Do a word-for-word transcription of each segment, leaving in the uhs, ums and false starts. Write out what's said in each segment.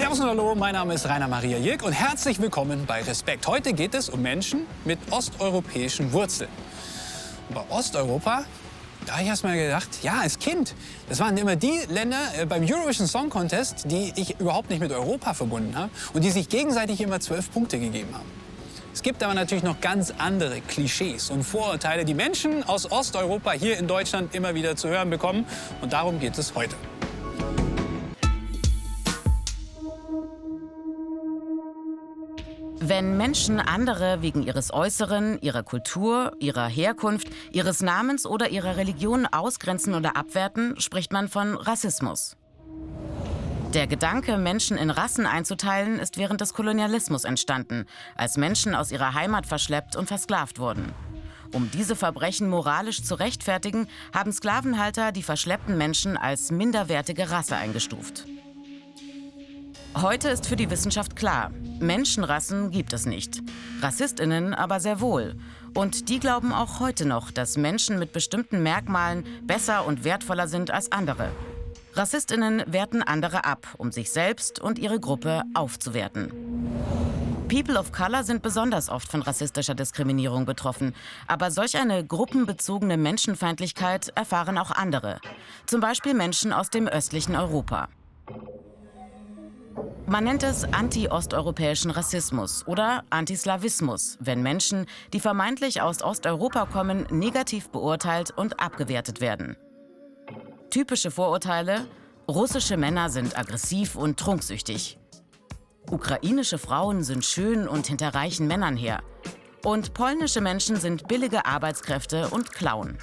Servus und Hallo, mein Name ist Rainer Maria Jirk und herzlich willkommen bei Respekt. Heute geht es um Menschen mit osteuropäischen Wurzeln. Und bei Osteuropa, da habe ich erst mal gedacht, ja, als Kind, das waren immer die Länder äh, beim Eurovision Song Contest, die ich überhaupt nicht mit Europa verbunden habe und die sich gegenseitig immer zwölf Punkte gegeben haben. Es gibt aber natürlich noch ganz andere Klischees und Vorurteile, die Menschen aus Osteuropa hier in Deutschland immer wieder zu hören bekommen. Und darum geht es heute. Wenn Menschen andere wegen ihres Äußeren, ihrer Kultur, ihrer Herkunft, ihres Namens oder ihrer Religion ausgrenzen oder abwerten, spricht man von Rassismus. Der Gedanke, Menschen in Rassen einzuteilen, ist während des Kolonialismus entstanden, als Menschen aus ihrer Heimat verschleppt und versklavt wurden. Um diese Verbrechen moralisch zu rechtfertigen, haben Sklavenhalter die verschleppten Menschen als minderwertige Rasse eingestuft. Heute ist für die Wissenschaft klar, Menschenrassen gibt es nicht, RassistInnen aber sehr wohl. Und die glauben auch heute noch, dass Menschen mit bestimmten Merkmalen besser und wertvoller sind als andere. RassistInnen werten andere ab, um sich selbst und ihre Gruppe aufzuwerten. People of Color sind besonders oft von rassistischer Diskriminierung betroffen. Aber solch eine gruppenbezogene Menschenfeindlichkeit erfahren auch andere. Zum Beispiel Menschen aus dem östlichen Europa. Man nennt es anti-osteuropäischen Rassismus oder Antislawismus, wenn Menschen, die vermeintlich aus Osteuropa kommen, negativ beurteilt und abgewertet werden. Typische Vorurteile: russische Männer sind aggressiv und trunksüchtig. Ukrainische Frauen sind schön und hinter reichen Männern her. Und polnische Menschen sind billige Arbeitskräfte und klauen.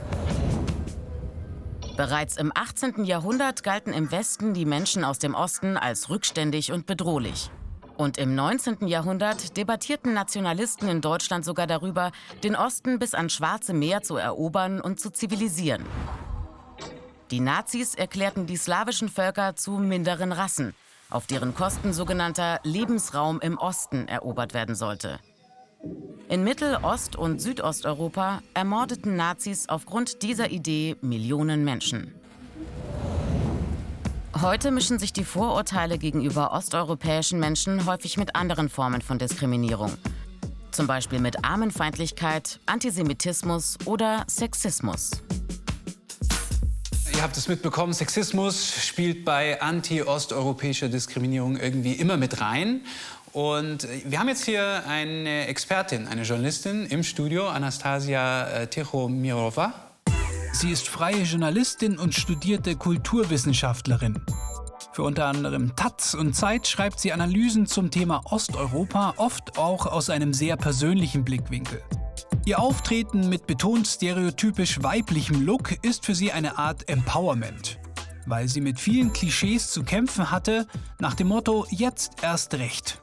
Bereits im achtzehnten Jahrhundert galten im Westen die Menschen aus dem Osten als rückständig und bedrohlich. Und im neunzehnten Jahrhundert debattierten Nationalisten in Deutschland sogar darüber, den Osten bis ans Schwarze Meer zu erobern und zu zivilisieren. Die Nazis erklärten die slawischen Völker zu minderen Rassen, auf deren Kosten sogenannter Lebensraum im Osten erobert werden sollte. In Mittel-, Ost- und Südosteuropa ermordeten Nazis aufgrund dieser Idee Millionen Menschen. Heute mischen sich die Vorurteile gegenüber osteuropäischen Menschen häufig mit anderen Formen von Diskriminierung. Zum Beispiel mit Armenfeindlichkeit, Antisemitismus oder Sexismus. Ihr habt es mitbekommen, Sexismus spielt bei anti-osteuropäischer Diskriminierung irgendwie immer mit rein. Und wir haben jetzt hier eine Expertin, eine Journalistin im Studio, Anastasia Tichomirova. Sie ist freie Journalistin und studierte Kulturwissenschaftlerin. Für unter anderem Taz und Zeit schreibt sie Analysen zum Thema Osteuropa, oft auch aus einem sehr persönlichen Blickwinkel. Ihr Auftreten mit betont stereotypisch weiblichem Look ist für sie eine Art Empowerment, weil sie mit vielen Klischees zu kämpfen hatte, nach dem Motto „Jetzt erst recht“.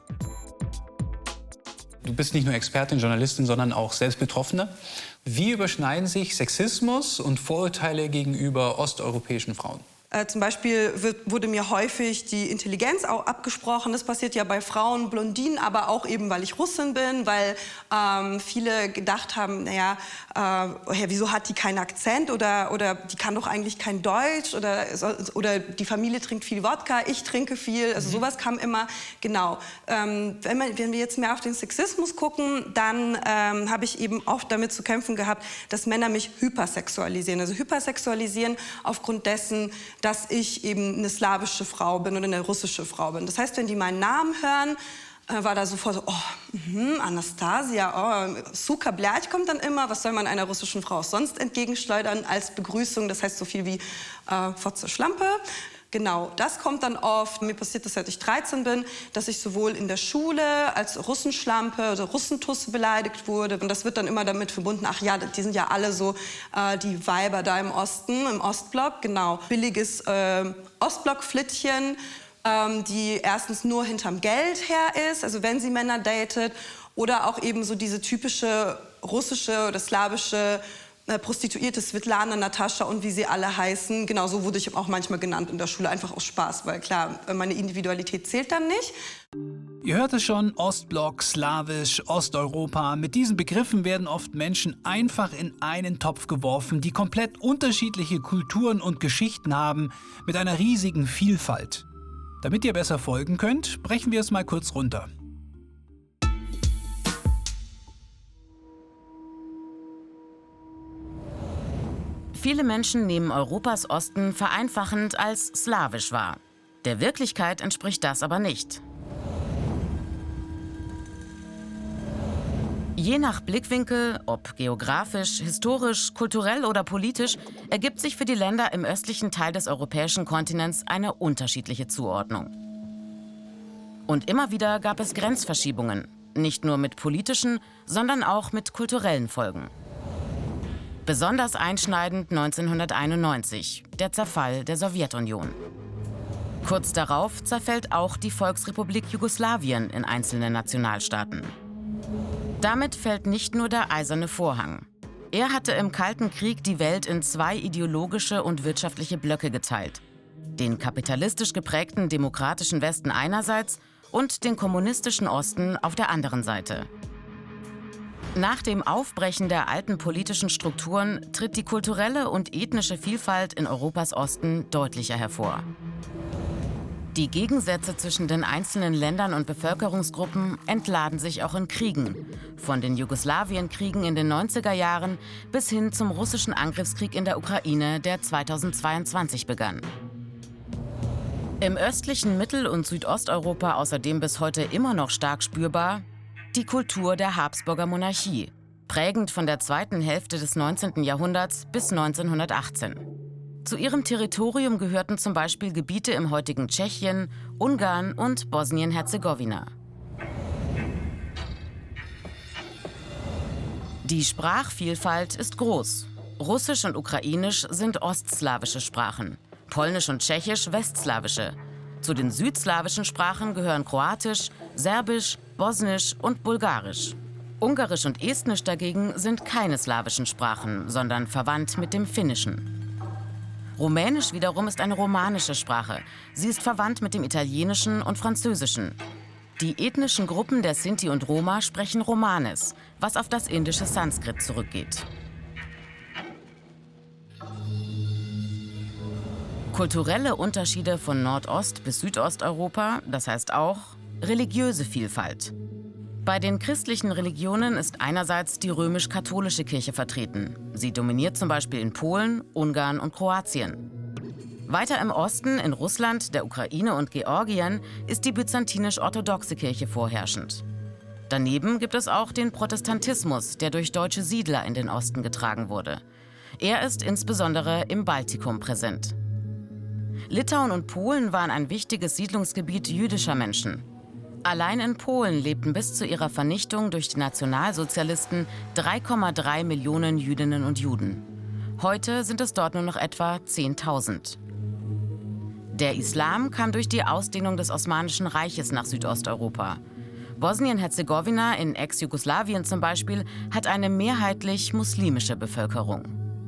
Du bist nicht nur Expertin, Journalistin, sondern auch selbst Betroffene. Wie überschneiden sich Sexismus und Vorurteile gegenüber osteuropäischen Frauen? Äh, zum Beispiel wird, wurde mir häufig die Intelligenz auch abgesprochen. Das passiert ja bei Frauen, Blondinen, aber auch eben, weil ich Russin bin, weil ähm, viele gedacht haben, naja, äh, wieso hat die keinen Akzent oder, oder die kann doch eigentlich kein Deutsch oder, oder die Familie trinkt viel Wodka, ich trinke viel. Also sowas kam immer, genau. Ähm, wenn, man, wenn wir jetzt mehr auf den Sexismus gucken, dann ähm, habe ich eben oft damit zu kämpfen gehabt, dass Männer mich hypersexualisieren. Also hypersexualisieren aufgrund dessen, dass ich eben eine slawische Frau bin oder eine russische Frau bin. Das heißt, wenn die meinen Namen hören, äh, war da sofort so, oh, mh, Anastasia, oh, Suka Blять kommt dann immer. Was soll man einer russischen Frau sonst entgegenschleudern als Begrüßung? Das heißt so viel wie äh, Fotze Schlampe. Genau, das kommt dann oft. Mir passiert das, seit ich dreizehn bin, dass ich sowohl in der Schule als Russenschlampe oder Russentusse beleidigt wurde. Und das wird dann immer damit verbunden, ach ja, die sind ja alle so äh, die Weiber da im Osten, im Ostblock. Genau, billiges äh, Ostblock-Flittchen, ähm, die erstens nur hinterm Geld her ist, also wenn sie Männer datet. Oder auch eben so diese typische russische oder slawische Prostituierte, Svetlana, Natascha und wie sie alle heißen. Genau so wurde ich auch manchmal genannt in der Schule, einfach aus Spaß, weil klar, meine Individualität zählt dann nicht. Ihr hört es schon, Ostblock, Slawisch, Osteuropa. Mit diesen Begriffen werden oft Menschen einfach in einen Topf geworfen, die komplett unterschiedliche Kulturen und Geschichten haben, mit einer riesigen Vielfalt. Damit ihr besser folgen könnt, brechen wir es mal kurz runter. Viele Menschen nehmen Europas Osten vereinfachend als slawisch wahr. Der Wirklichkeit entspricht das aber nicht. Je nach Blickwinkel, ob geografisch, historisch, kulturell oder politisch, ergibt sich für die Länder im östlichen Teil des europäischen Kontinents eine unterschiedliche Zuordnung. Und immer wieder gab es Grenzverschiebungen, nicht nur mit politischen, sondern auch mit kulturellen Folgen. Besonders einschneidend neunzehnhunderteinundneunzig, der Zerfall der Sowjetunion. Kurz darauf zerfällt auch die Volksrepublik Jugoslawien in einzelne Nationalstaaten. Damit fällt nicht nur der eiserne Vorhang. Er hatte im Kalten Krieg die Welt in zwei ideologische und wirtschaftliche Blöcke geteilt. Den kapitalistisch geprägten demokratischen Westen einerseits und den kommunistischen Osten auf der anderen Seite. Nach dem Aufbrechen der alten politischen Strukturen tritt die kulturelle und ethnische Vielfalt in Europas Osten deutlicher hervor. Die Gegensätze zwischen den einzelnen Ländern und Bevölkerungsgruppen entladen sich auch in Kriegen, von den Jugoslawienkriegen in den neunziger Jahren bis hin zum russischen Angriffskrieg in der Ukraine, der zweitausendzweiundzwanzig begann. Im östlichen Mittel- und Südosteuropa außerdem bis heute immer noch stark spürbar die Kultur der Habsburger Monarchie, prägend von der zweiten Hälfte des neunzehnten Jahrhunderts bis neunzehnhundertachtzehn. Zu ihrem Territorium gehörten zum Beispiel Gebiete im heutigen Tschechien, Ungarn und Bosnien-Herzegowina. Die Sprachvielfalt ist groß. Russisch und Ukrainisch sind ostslawische Sprachen, Polnisch und Tschechisch westslawische. Zu den südslawischen Sprachen gehören Kroatisch, Serbisch, Bosnisch und Bulgarisch. Ungarisch und Estnisch dagegen sind keine slawischen Sprachen, sondern verwandt mit dem Finnischen. Rumänisch wiederum ist eine romanische Sprache. Sie ist verwandt mit dem Italienischen und Französischen. Die ethnischen Gruppen der Sinti und Roma sprechen Romanes, was auf das indische Sanskrit zurückgeht. Kulturelle Unterschiede von Nordost- bis Südosteuropa, das heißt auch religiöse Vielfalt. Bei den christlichen Religionen ist einerseits die römisch-katholische Kirche vertreten. Sie dominiert zum Beispiel in Polen, Ungarn und Kroatien. Weiter im Osten, in Russland, der Ukraine und Georgien, ist die byzantinisch-orthodoxe Kirche vorherrschend. Daneben gibt es auch den Protestantismus, der durch deutsche Siedler in den Osten getragen wurde. Er ist insbesondere im Baltikum präsent. Litauen und Polen waren ein wichtiges Siedlungsgebiet jüdischer Menschen. Allein in Polen lebten bis zu ihrer Vernichtung durch die Nationalsozialisten drei Komma drei Millionen Jüdinnen und Juden. Heute sind es dort nur noch etwa zehntausend. Der Islam kam durch die Ausdehnung des Osmanischen Reiches nach Südosteuropa. Bosnien-Herzegowina in Ex-Jugoslawien zum Beispiel hat eine mehrheitlich muslimische Bevölkerung.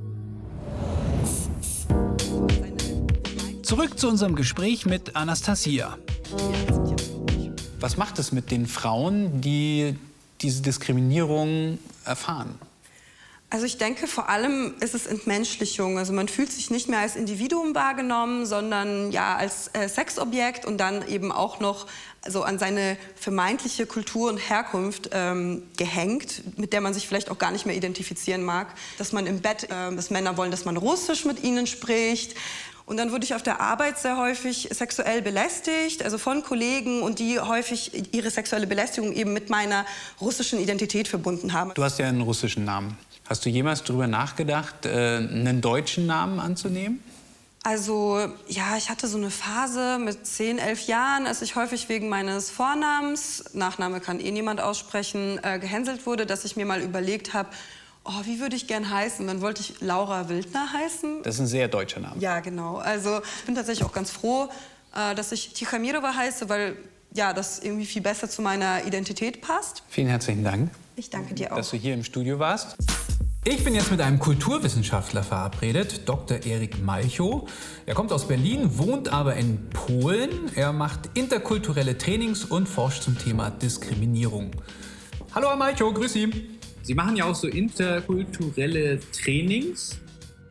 Zurück zu unserem Gespräch mit Anastasia. Was macht es mit den Frauen, die diese Diskriminierung erfahren? Also ich denke, vor allem ist es Entmenschlichung. Also man fühlt sich nicht mehr als Individuum wahrgenommen, sondern ja als äh, Sexobjekt und dann eben auch noch so an seine vermeintliche Kultur und Herkunft ähm, gehängt, mit der man sich vielleicht auch gar nicht mehr identifizieren mag. Dass man im Bett, äh, dass Männer wollen, dass man Russisch mit ihnen spricht. Und dann wurde ich auf der Arbeit sehr häufig sexuell belästigt, also von Kollegen, und die häufig ihre sexuelle Belästigung eben mit meiner russischen Identität verbunden haben. Du hast ja einen russischen Namen. Hast du jemals darüber nachgedacht, einen deutschen Namen anzunehmen? Also, ja, ich hatte so eine Phase mit zehn, elf Jahren, als ich häufig wegen meines Vornamens, Nachname kann eh niemand aussprechen, äh, gehänselt wurde, dass ich mir mal überlegt habe, oh, wie würde ich gern heißen? Dann wollte ich Laura Wildner heißen. Das ist ein sehr deutscher Name. Ja, genau. Also ich bin tatsächlich auch ganz froh, äh, dass ich Tikhamirova heiße, weil ja, das irgendwie viel besser zu meiner Identität passt. Vielen herzlichen Dank. Ich danke dir auch. Dass du hier im Studio warst. Ich bin jetzt mit einem Kulturwissenschaftler verabredet, Doktor Erik Malchow. Er kommt aus Berlin, wohnt aber in Polen. Er macht interkulturelle Trainings und forscht zum Thema Diskriminierung. Hallo Herr Malchow, grüß Sie. Sie machen ja auch so interkulturelle Trainings.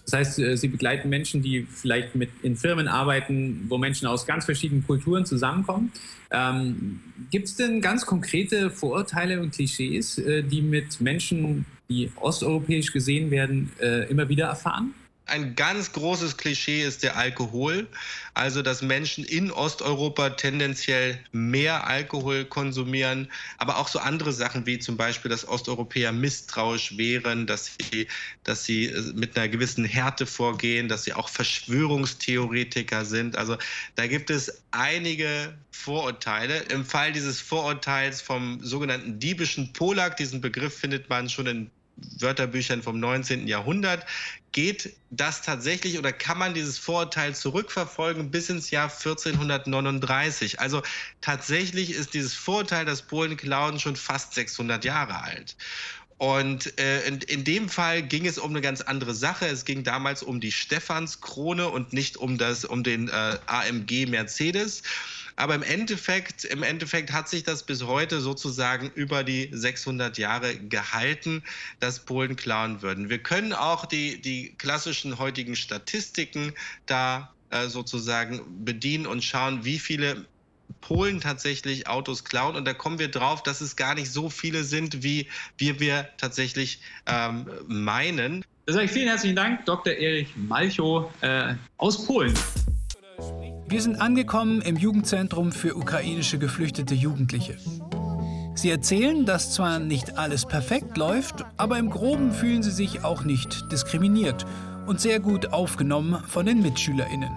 Das heißt, Sie begleiten Menschen, die vielleicht mit in Firmen arbeiten, wo Menschen aus ganz verschiedenen Kulturen zusammenkommen. Ähm, gibt es denn ganz konkrete Vorurteile und Klischees, äh, die mit Menschen, die osteuropäisch gesehen werden, äh, immer wieder erfahren? Ein ganz großes Klischee ist der Alkohol, also dass Menschen in Osteuropa tendenziell mehr Alkohol konsumieren, aber auch so andere Sachen wie zum Beispiel, dass Osteuropäer misstrauisch wären, dass sie, dass sie mit einer gewissen Härte vorgehen, dass sie auch Verschwörungstheoretiker sind. Also da gibt es einige Vorurteile. Im Fall dieses Vorurteils vom sogenannten diebischen Polak, diesen Begriff findet man schon in Wörterbüchern vom neunzehnten Jahrhundert, geht das tatsächlich oder kann man dieses Vorurteil zurückverfolgen bis ins Jahr vierzehnhundertneununddreißig. Also tatsächlich ist dieses Vorurteil, dass Polen klauen, schon fast sechshundert Jahre alt. Und äh, in, in dem Fall ging es um eine ganz andere Sache. Es ging damals um die Stephanskrone und nicht um, das, um den äh, A M G Mercedes. Aber im Endeffekt, im Endeffekt hat sich das bis heute sozusagen über die sechshundert Jahre gehalten, dass Polen klauen würden. Wir können auch die, die klassischen heutigen Statistiken da äh, sozusagen bedienen und schauen, wie viele Polen tatsächlich Autos klauen. Und da kommen wir drauf, dass es gar nicht so viele sind, wie wir, wir tatsächlich ähm, meinen. Da sage ich vielen herzlichen Dank, Doktor Erich Malchow äh, aus Polen. Wir sind angekommen im Jugendzentrum für ukrainische geflüchtete Jugendliche. Sie erzählen, dass zwar nicht alles perfekt läuft, aber im Groben fühlen sie sich auch nicht diskriminiert und sehr gut aufgenommen von den MitschülerInnen.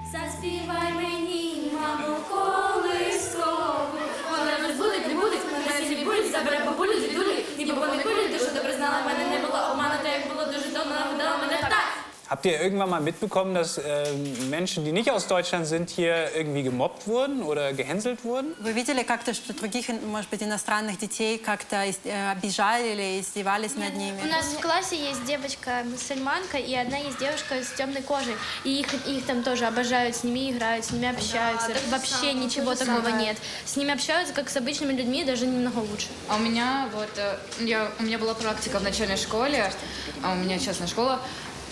Habt ihr irgendwann mal mitbekommen, dass äh, Menschen, die nicht aus Deutschland sind, hier irgendwie gemobbt wurden oder gehänselt wurden? Вы видели как-то, что других, может быть, иностранных детей как-то обижали или издевались над ними? У нас в классе есть девочка-мусульманка и одна есть девушка с темной кожей. И их, их там тоже обожают, с ними играют, с ними общаются. Вообще ничего такого нет. С ними общаются, как с обычными людьми, даже немного лучше. А у меня вот, я, у меня была практика в начальной школе, а у меня частная школа.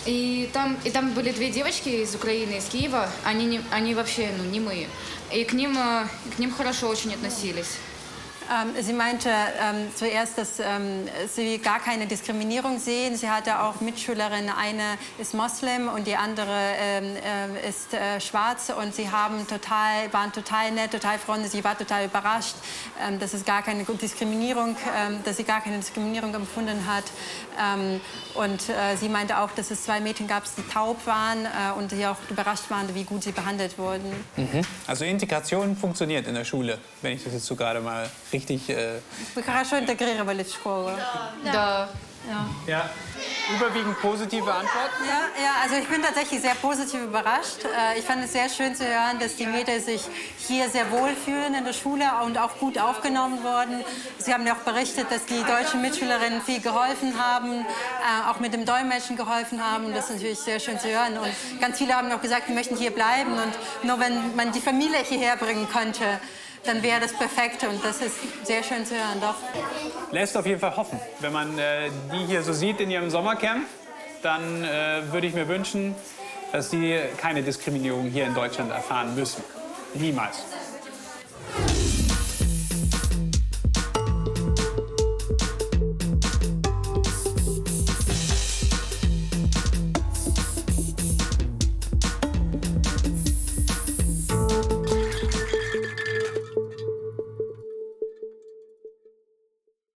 И там, и там были две девочки из Украины, из Киева. Они, не, они вообще ну, немые. И к ним, к ним хорошо очень относились. Ähm, sie meinte ähm, zuerst, dass ähm, sie gar keine Diskriminierung sehen. Sie hatte auch Mitschülerinnen, eine ist Moslem und die andere ähm, äh, ist äh, schwarz. Und sie haben total, waren total nett, total freundlich. Sie war total überrascht, ähm, dass es gar keine Diskriminierung, ähm, dass sie gar keine Diskriminierung empfunden hat. Ähm, und äh, sie meinte auch, dass es zwei Mädchen gab, die taub waren äh, und die auch überrascht waren, wie gut sie behandelt wurden. Mhm. Also Integration funktioniert in der Schule, wenn ich das jetzt so gerade mal richtig... Äh Вы хорошо интегрировали в школу? Да. Ja. Ja. Überwiegend positive Antworten? Ja, ja, also ich bin tatsächlich sehr positiv überrascht. Ich fand es sehr schön zu hören, dass die Mädchen sich hier sehr wohl fühlen in der Schule und auch gut aufgenommen wurden. Sie haben ja auch berichtet, dass die deutschen Mitschülerinnen viel geholfen haben, auch mit dem Dolmetschen geholfen haben. Das ist natürlich sehr schön zu hören. Und ganz viele haben auch gesagt, sie möchten hier bleiben. Und nur wenn man die Familie hierher bringen könnte, dann wäre das perfekt und das ist sehr schön zu hören, doch. Lässt auf jeden Fall hoffen. Wenn man äh, die hier so sieht in ihrem Sommercamp, dann äh, würde ich mir wünschen, dass sie keine Diskriminierung hier in Deutschland erfahren müssen. Niemals.